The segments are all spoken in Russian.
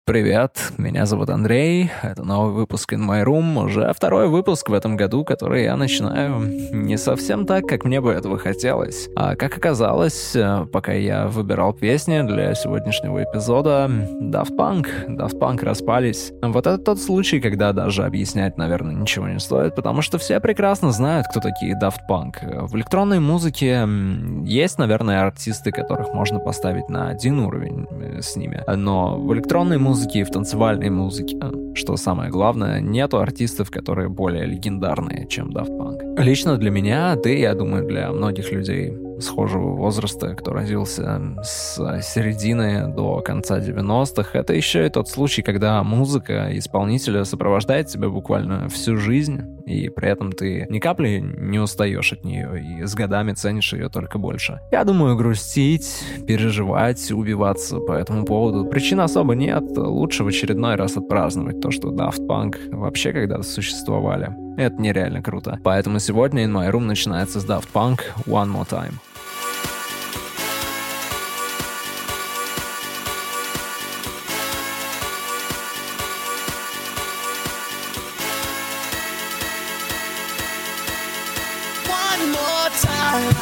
Привет, меня зовут Андрей, это новый выпуск In My Room, уже второй выпуск в этом году, который я начинаю не совсем так, как мне бы этого хотелось. А как оказалось, пока я выбирал песни для сегодняшнего эпизода, Daft Punk распались. Вот это тот случай, когда даже объяснять, наверное, ничего не стоит, потому что все прекрасно знают, кто такие Daft Punk. В электронной музыке есть, наверное, артисты, которых можно поставить на один уровень с ними, но в электронной музыке и в танцевальной музыке, что самое главное, нету артистов, которые более легендарные, чем Daft Punk. Лично для меня, да и я думаю, для многих людей схожего возраста, кто родился с середины до конца 90-х, это еще и тот случай, когда музыка исполнителя сопровождает тебя буквально всю жизнь, и при этом ты ни капли не устаешь от нее, и с годами ценишь ее только больше. Я думаю, грустить, переживать, убиваться по этому поводу причин особо нет. Лучше в очередной раз отпраздновать то, что Daft Punk вообще когда-то существовали. Это нереально круто. Поэтому сегодня In My Room начинается с Daft Punk One More Time. One more time.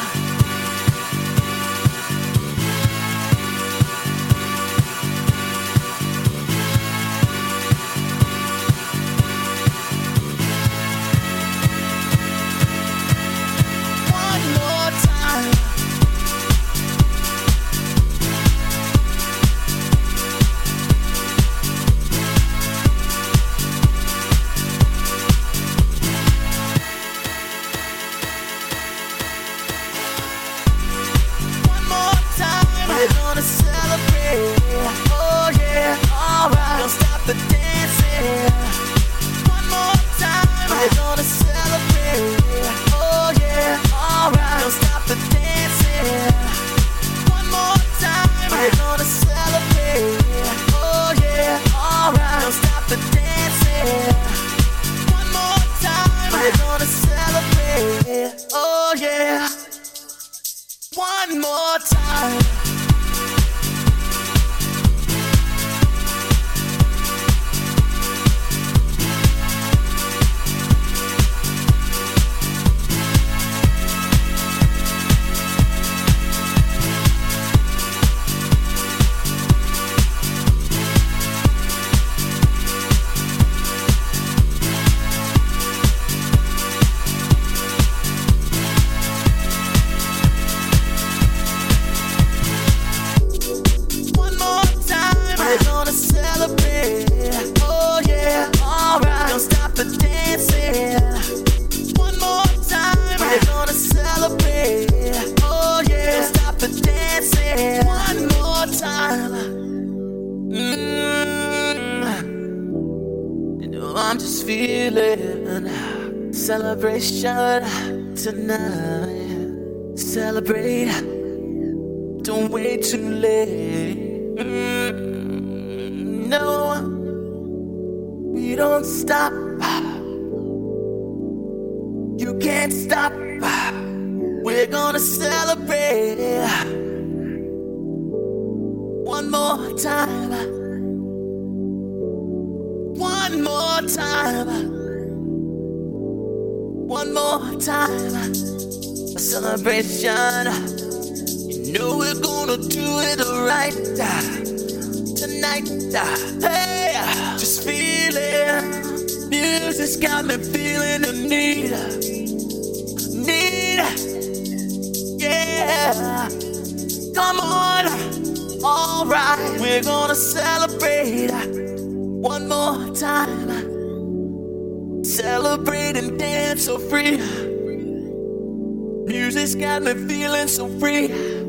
One more time. I'm just feeling celebration tonight. Celebrate, don't wait too late. No, we don't stop. You can't stop. We're gonna celebrate one more time. One more time. One more time. A celebration. You know we're gonna do it right tonight. Hey, just feel it. Music's got me feeling the need. Yeah. Come on. Alright, we're gonna celebrate one more time. Celebrate and dance so free. Music's got me feeling so free.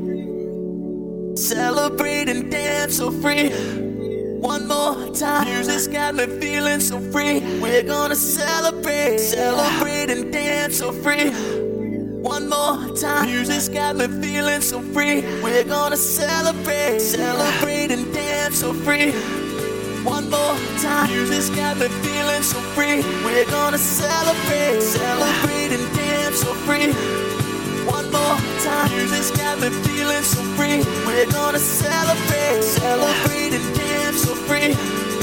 Celebrate and dance so free. One more time. Music's got me feeling so free. We're gonna celebrate. Celebrate and dance so free. One more time. Music's got me feeling so free. We're gonna celebrate. Celebrate and dance so free. One more time. Music's got me feeling so free. We're gonna celebrate. Celebrate and dance so free. One more time. Music's got me feeling so free. We're gonna celebrate. Celebrate and dance so free.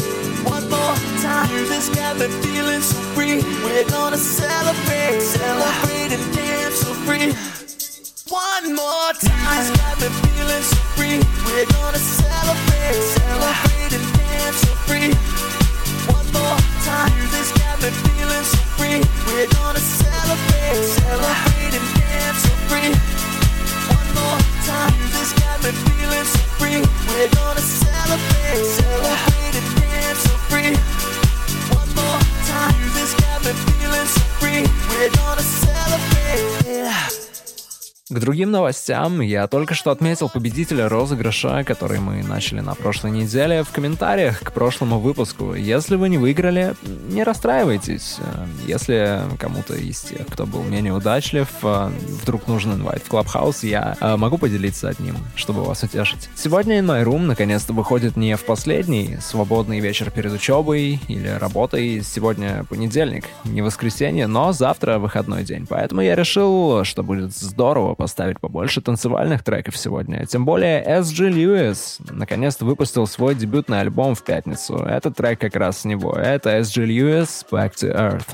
Music's got me feeling so free. We're gonna celebrate, celebrate and dance so free. One more time. Music's got me feeling so free. We're gonna celebrate, celebrate and dance so free. One more time. Music's got me feeling so free. We're gonna celebrate, celebrate and dance so free. One more time. Music's got me feeling so free. We're gonna celebrate, celebrate and dance so free. One more time. Music's got me feeling so free. We're gonna celebrate. К другим новостям я только что отметил победителя розыгрыша, который мы начали на прошлой неделе, в комментариях к прошлому выпуску. Если вы не выиграли, не расстраивайтесь. Если кому-то из тех, кто был менее удачлив, вдруг нужен инвайт в Clubhouse, я могу поделиться одним, чтобы вас утешить. Сегодня In My Room наконец-то выходит не в последний свободный вечер перед учебой или работой. Сегодня понедельник, не воскресенье, но завтра выходной день. Поэтому я решил, что будет здорово поставить побольше танцевальных треков сегодня. Тем более S.G. Lewis наконец-то выпустил свой дебютный альбом в пятницу. Этот трек как раз с него. Это S.G. Lewis Back to Earth.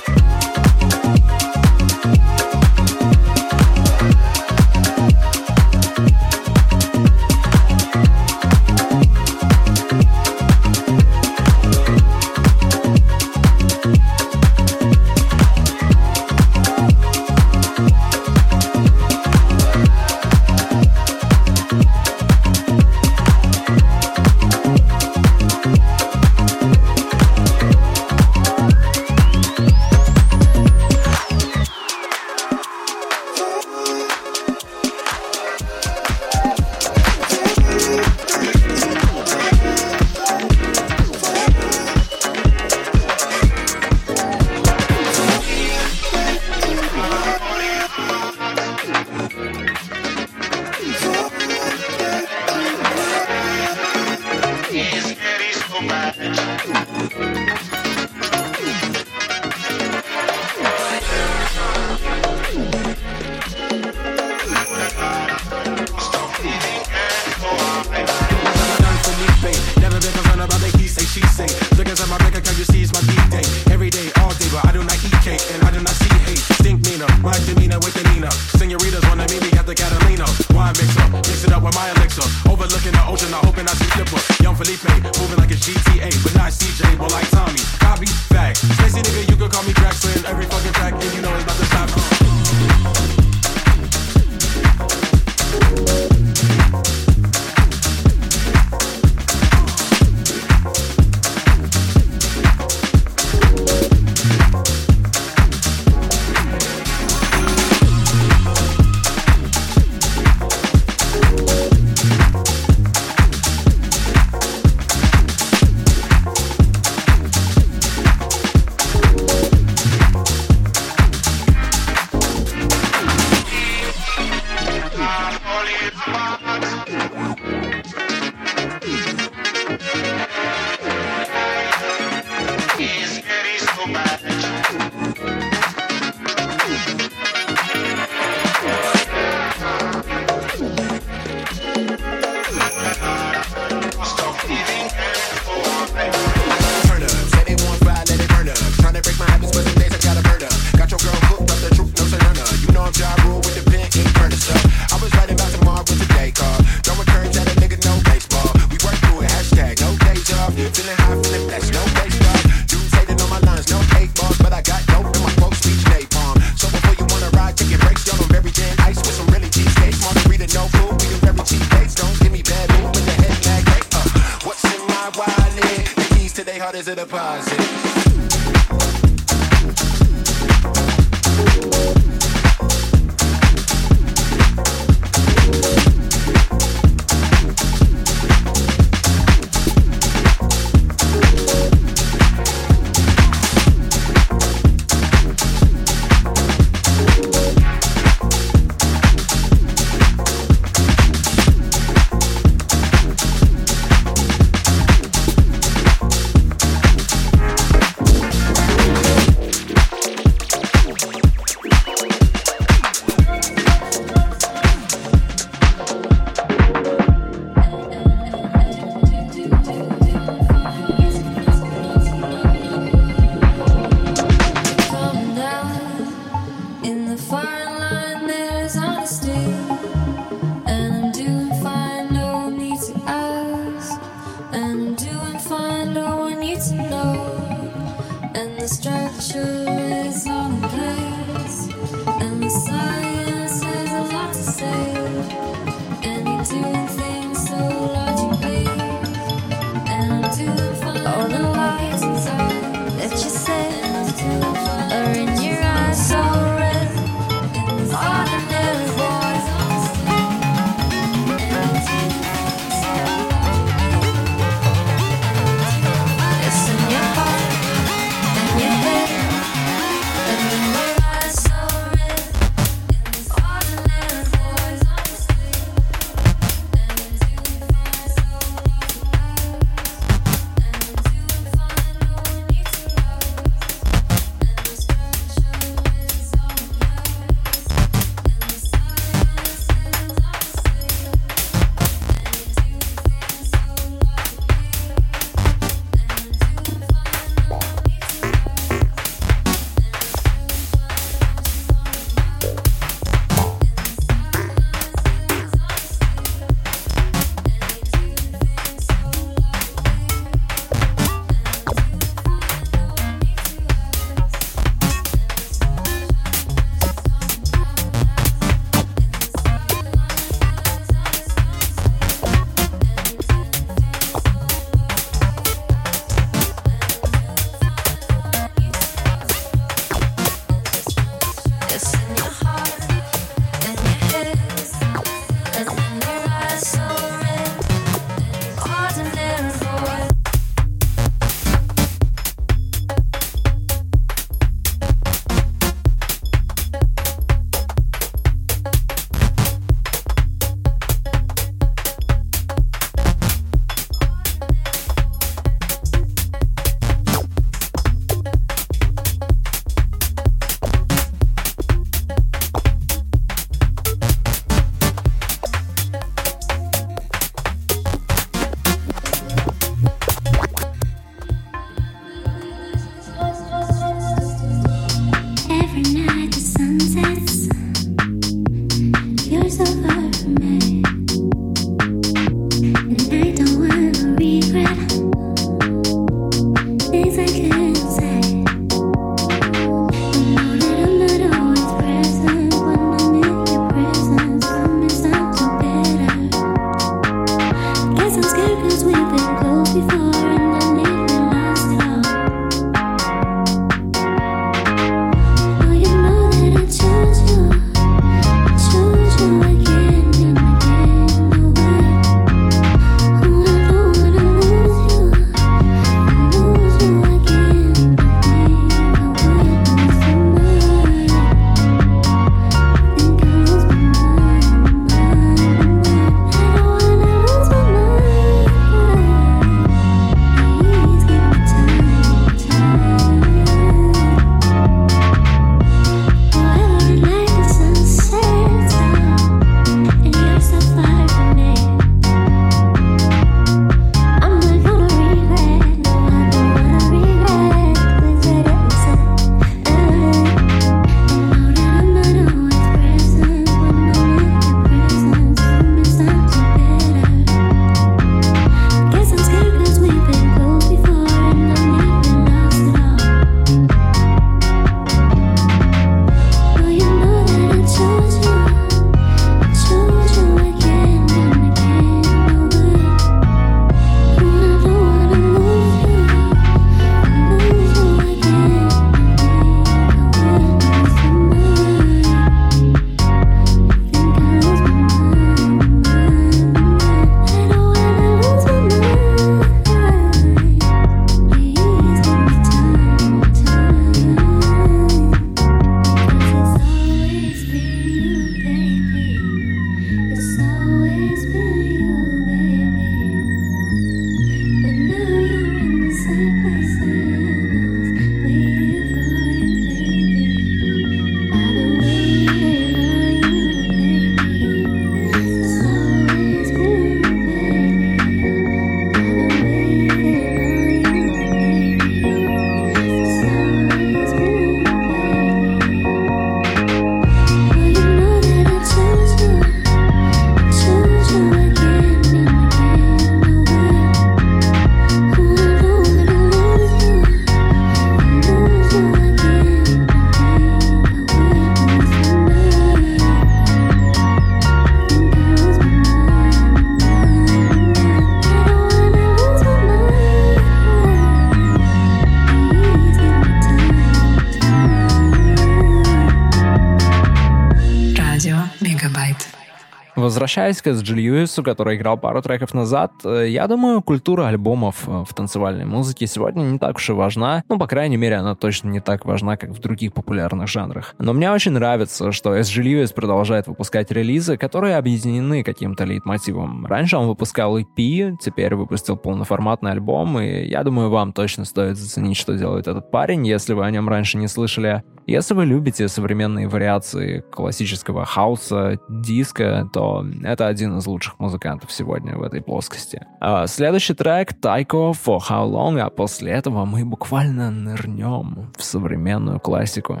Возвращаясь к Эс.Джи Льюису, который играл пару треков назад, я думаю, культура альбомов в танцевальной музыке сегодня не так уж и важна. Ну, по крайней мере, она точно не так важна, как в других популярных жанрах. Но мне очень нравится, что Эс.Джи Льюис продолжает выпускать релизы, которые объединены каким-то лейтмотивом. Раньше он выпускал EP, теперь выпустил полноформатный альбом, и я думаю, вам точно стоит заценить, что делает этот парень, если вы о нем раньше не слышали. Если вы любите современные вариации классического хауса, диска, то это один из лучших музыкантов сегодня в этой плоскости. Следующий трек Tycho For How Long, а после этого мы буквально нырнем в современную классику.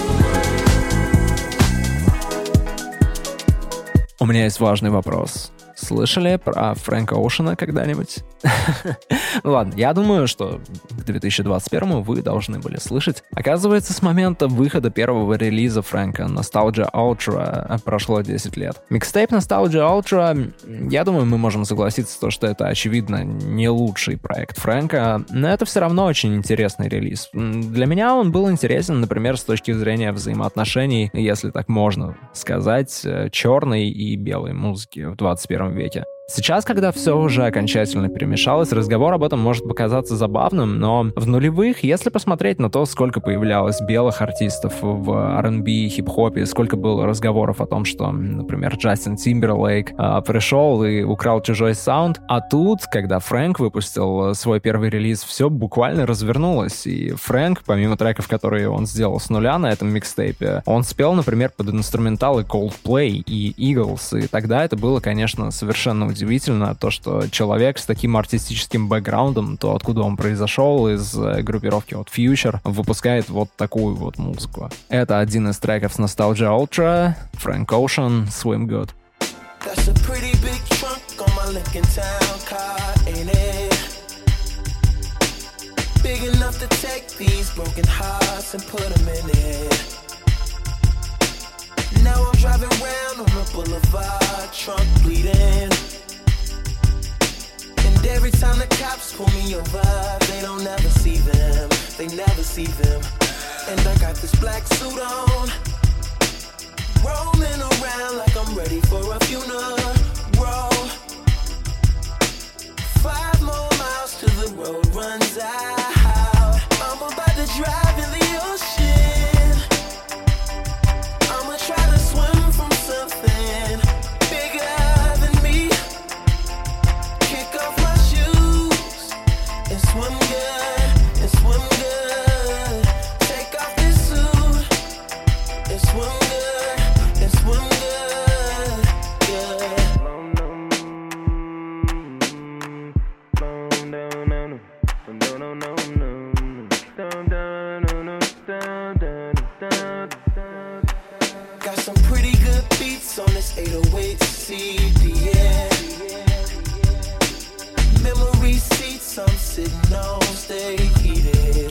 У меня есть важный вопрос. Слышали про Фрэнка Оушена когда-нибудь? Ну ладно, я думаю, что к 2021 вы должны были слышать. Оказывается, с момента выхода первого релиза Фрэнка Nostalgia Ultra прошло 10 лет. Микстейп Nostalgia Ultra, я думаю, мы можем согласиться, что это, очевидно, не лучший проект Фрэнка, но это все равно очень интересный релиз. Для меня он был интересен, например, с точки зрения взаимоотношений, если так можно сказать, черной и белой музыки в 21 веке. Сейчас, когда все уже окончательно перемешалось, разговор об этом может показаться забавным, но в нулевых, если посмотреть на то, сколько появлялось белых артистов в R&B и хип-хопе, сколько было разговоров о том, что, например, Джастин Тимберлейк пришел и украл чужой саунд, а тут, когда Фрэнк выпустил свой первый релиз, все буквально развернулось, и Фрэнк, помимо треков, которые он сделал с нуля на этом микстейпе, он спел, например, под инструменталы Coldplay и Eagles, и тогда это было, конечно, совершенно удивительно, то, что человек с таким артистическим бэкграундом, то, откуда он произошел, из группировки от Future, выпускает вот такую вот музыку. Это один из треков с Nostalgia Ultra, Frank Ocean, Swim Good. That's a pretty big trunk on my Lincoln Town car, ain't it? Big enough to take these broken hearts and put them in it. Now I'm driving round on the boulevard, trunk bleeding. And every time the cops pull me over, they don't ever see them, they never see them. And I got this black suit on, rolling around like I'm ready for a funeral. 5 more miles till the road runs out. I'm about to drive in the ocean. I'ma try to swim from something bigger than me. Kick off my shoes and swim good, and swim good. Take off this suit and swim good, and swim good, yeah. Got some pretty good beats on this 808 CD, yeah. Memory seats I'm sitting on stay heated.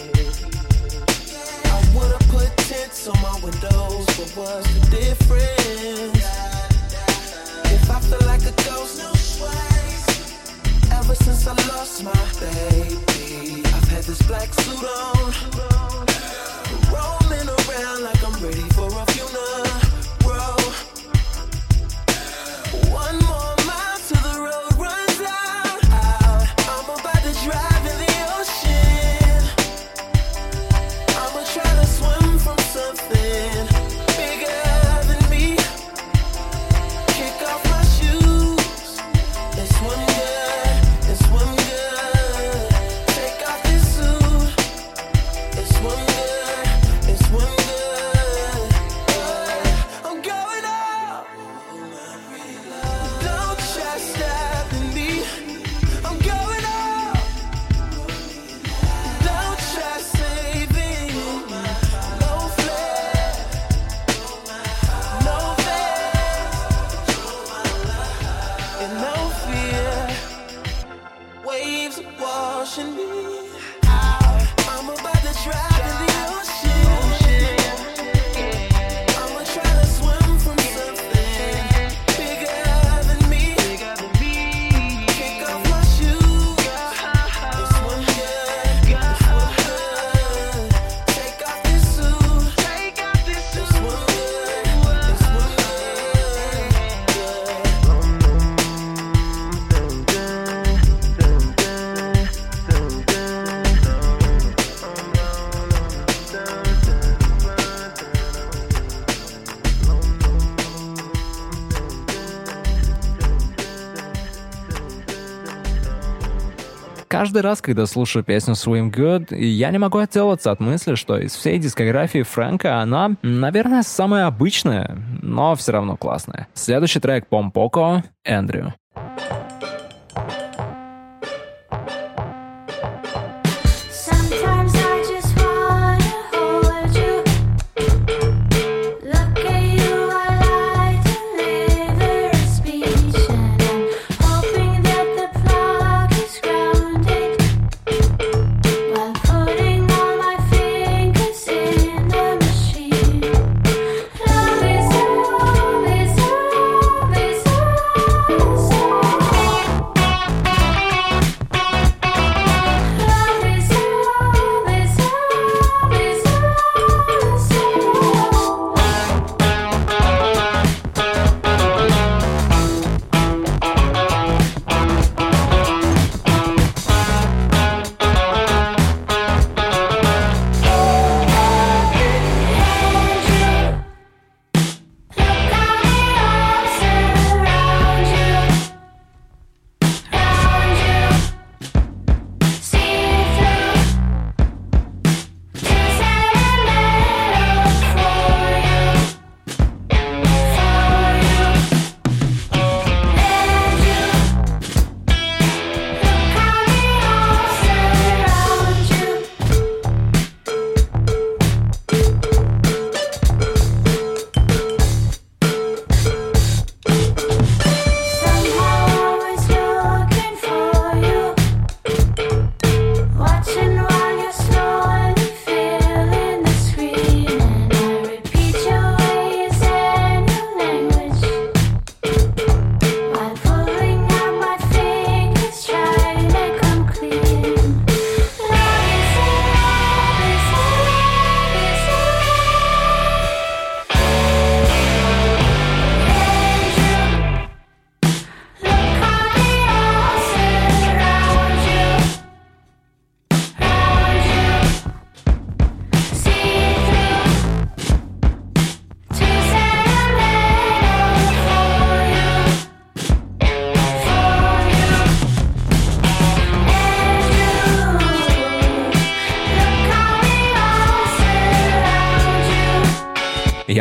I would've put tints on my windows, but what's the difference? If I feel like a ghost, no sways. Ever since I lost my baby, I've had this black suit on, rolling around like I'm ready for a funeral. 1 more mile till the road runs out. I'm about to drive in the ocean. I'ma try to swim from something bigger than me. Kick off my shoes and swim good, and swim good. Take off this suit and swim good, and swim good. I'm going up. Don't try stopping me. I'm going up. Don't try saving me. No flare, no fear, and no fear. Waves are washing me out. I'm about to drive in the ocean. I'ma try to swim from something bigger than me. Kick off my shoes and swim good, and swim good. Take off this suit and swim good, and swim Каждый раз, когда слушаю песню Swim Good, я не могу отделаться от мысли, что из всей дискографии Фрэнка она, наверное, самая обычная, но все равно классная. Следующий трек Помпоко, Эндрю. Sometimes I just wanna hold you. Look at you, I like deliver a speech. And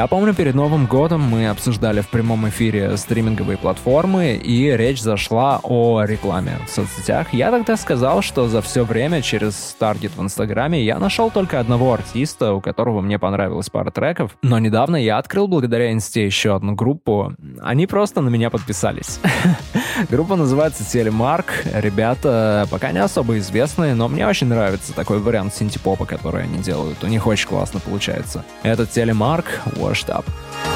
Я помню, перед Новым годом мы обсуждали в прямом эфире стриминговые платформы, и речь зашла о рекламе в соцсетях. Я тогда сказал, что за все время через таргет в Инстаграме я нашел только одного артиста, у которого мне понравилась пара треков, но недавно я открыл благодаря Инсте еще одну группу. Они просто на меня подписались. Группа называется Телемарк. Ребята пока не особо известные, но мне очень нравится такой вариант синтепопа, который они делают. У них очень классно получается. Это Телемарк, Washed Up.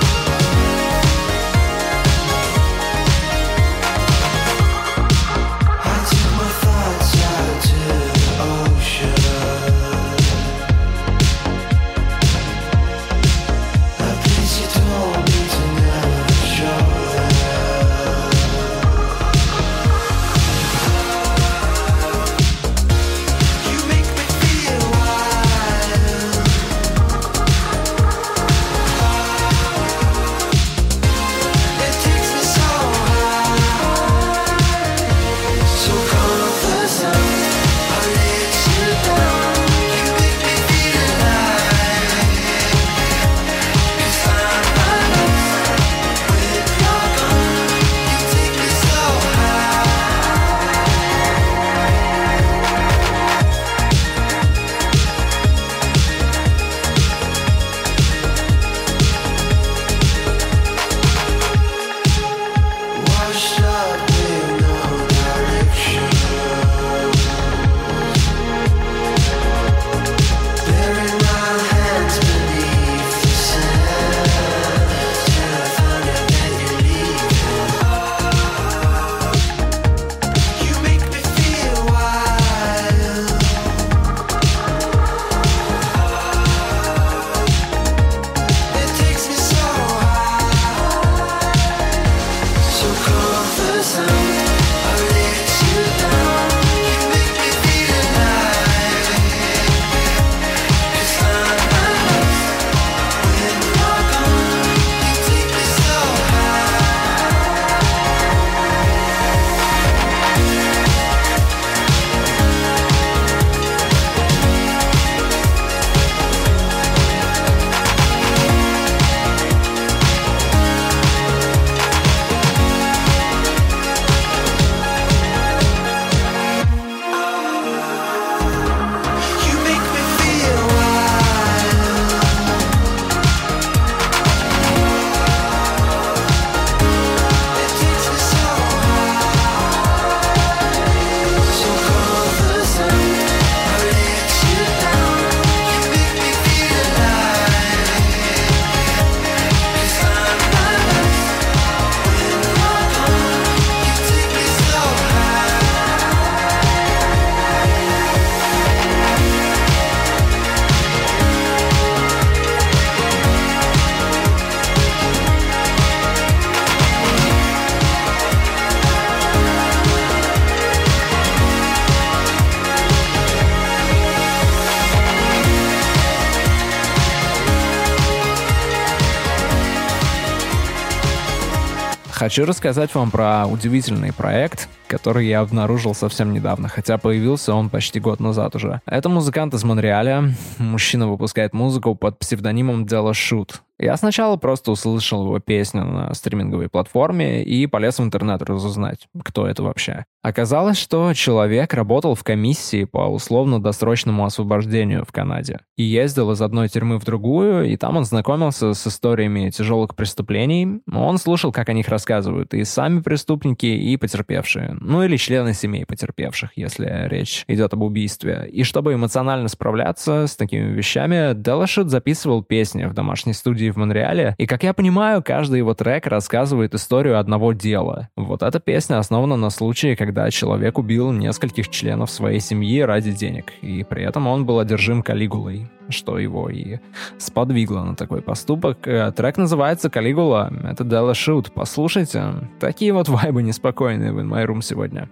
Хочу рассказать вам про удивительный проект, который я обнаружил совсем недавно, хотя появился он почти год назад уже. Это музыкант из Монреаля. Мужчина выпускает музыку под псевдонимом Della Shoot. Я сначала просто услышал его песню на стриминговой платформе и полез в интернет разузнать, кто это вообще. Оказалось, что человек работал в комиссии по условно-досрочному освобождению в Канаде и ездил из одной тюрьмы в другую, и там он знакомился с историями тяжелых преступлений. Он слушал, как о них рассказывают и сами преступники, и потерпевшие. Ну или члены семей потерпевших, если речь идет об убийстве. И чтобы эмоционально справляться с такими вещами, Della Shoot записывал песни в домашней студии в Монреале, и, как я понимаю, каждый его трек рассказывает историю одного дела. Вот эта песня основана на случае, когда человек убил нескольких членов своей семьи ради денег, и при этом он был одержим Калигулой, что его и сподвигло на такой поступок. Трек называется «Калигула», это Della Shoot, послушайте. Такие вот вайбы неспокойные в In My Room сегодня.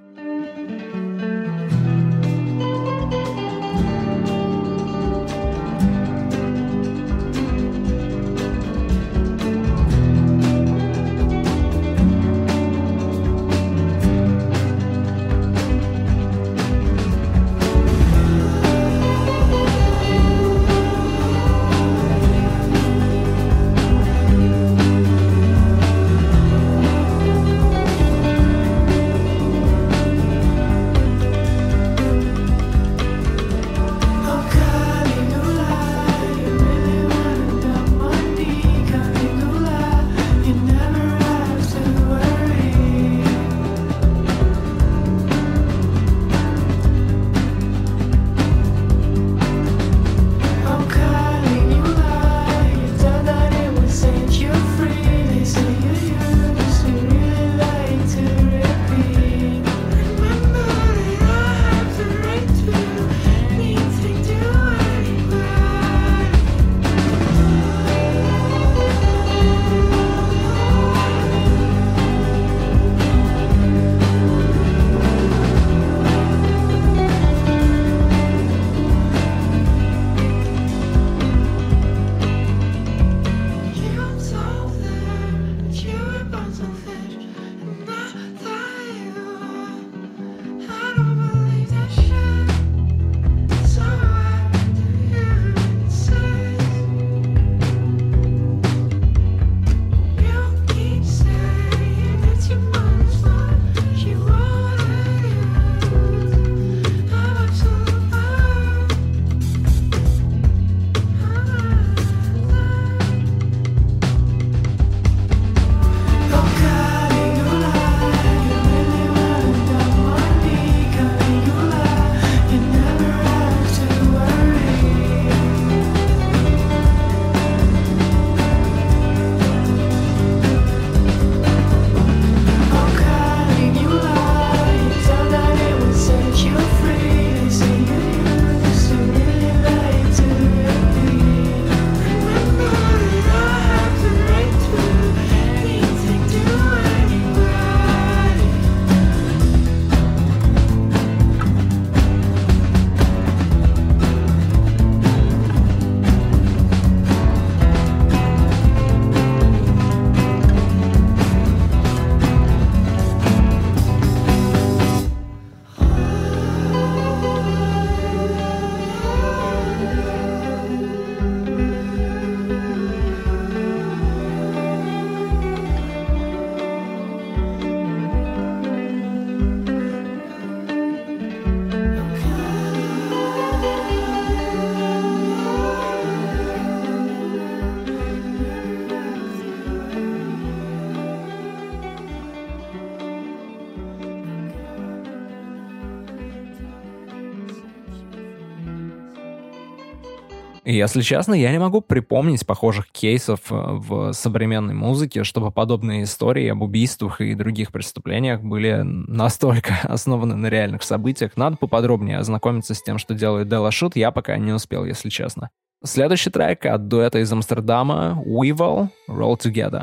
И, если честно, я не могу припомнить похожих кейсов в современной музыке, чтобы подобные истории об убийствах и других преступлениях были настолько основаны на реальных событиях. Надо поподробнее ознакомиться с тем, что делает Делла Шут, я пока не успел, если честно. Следующий трек от дуэта из Амстердама Weevil «Roll Together».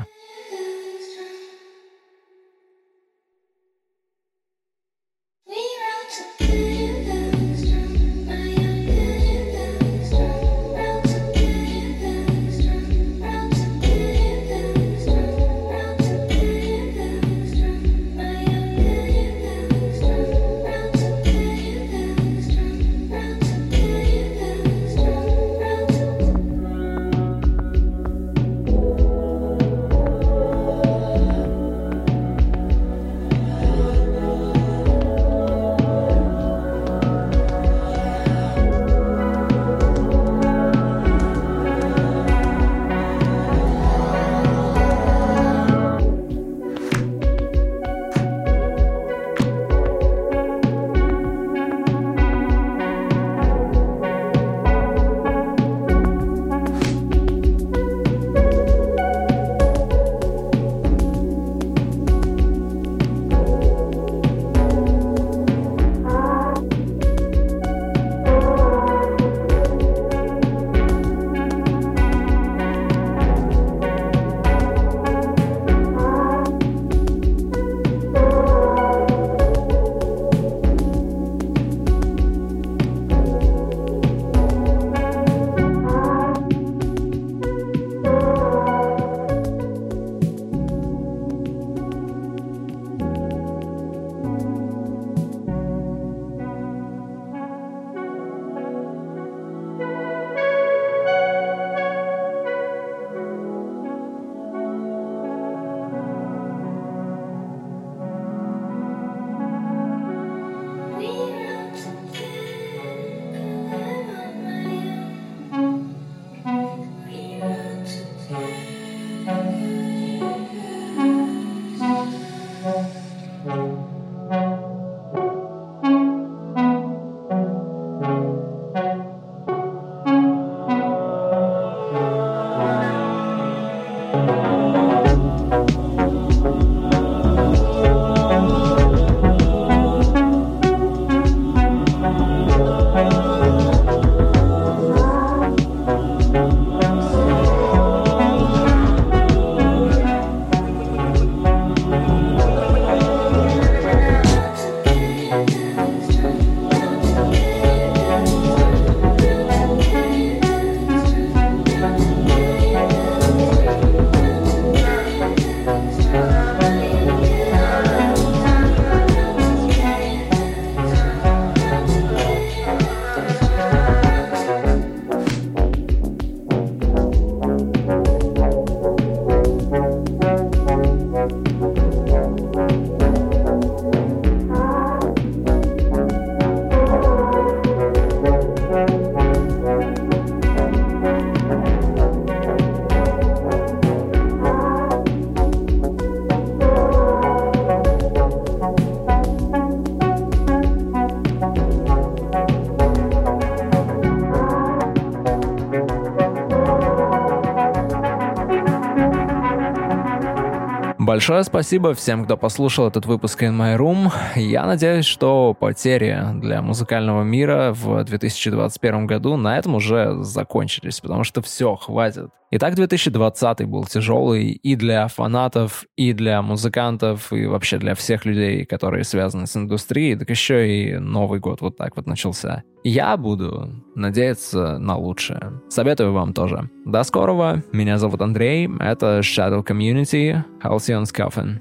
Большое спасибо всем, кто послушал этот выпуск In My Room. Я надеюсь, что потери для музыкального мира в 2021 году на этом уже закончились, потому что все, хватит. Итак, 2020 был тяжелый и для фанатов, и для музыкантов, и вообще для всех людей, которые связаны с индустрией, так еще и Новый год вот так вот начался. Я буду надеяться на лучшее. Советую вам тоже. До скорого. Меня зовут Андрей. Это Shadow Community. Halcyon's Coffin.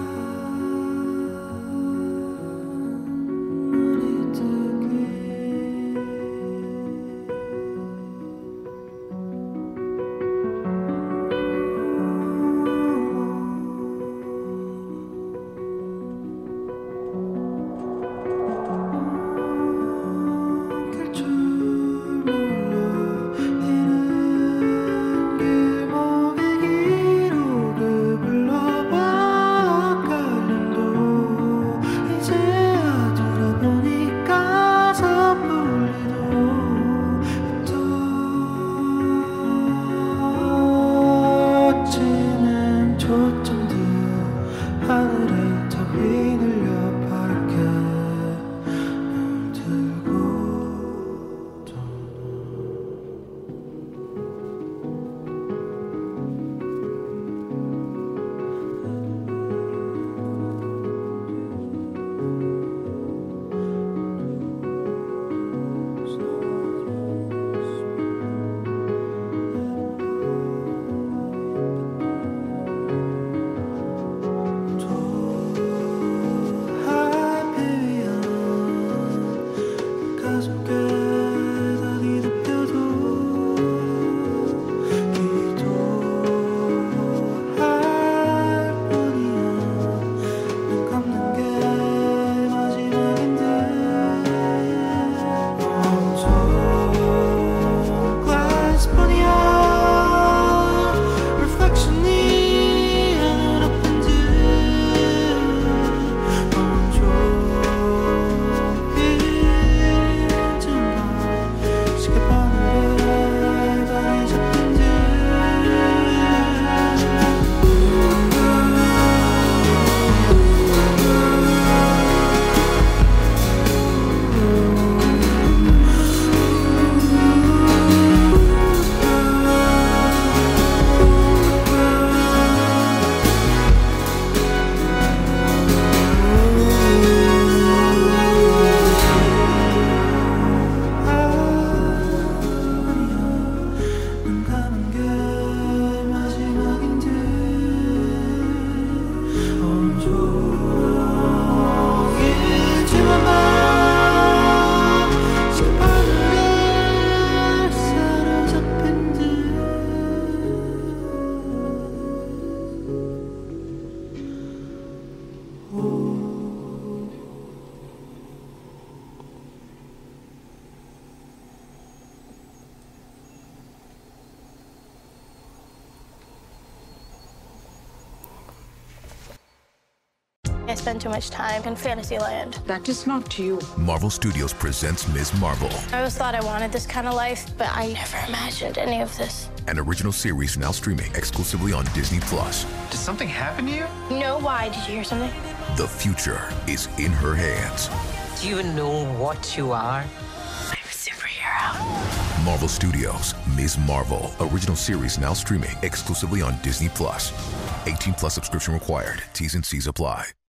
Together I spend too much time in Fantasyland. That is not you. Marvel Studios presents Ms. Marvel, I always thought I wanted this kind of life, but I never imagined any of this. an original series now streaming exclusively on Disney+. Did something happen to you? No, why? Did you hear something? The future is in her hands. Do you know what you are? I'm a superhero. Marvel Studios, Ms. Marvel, original series now streaming exclusively on Disney+. 18+ subscription required. T's and C's apply.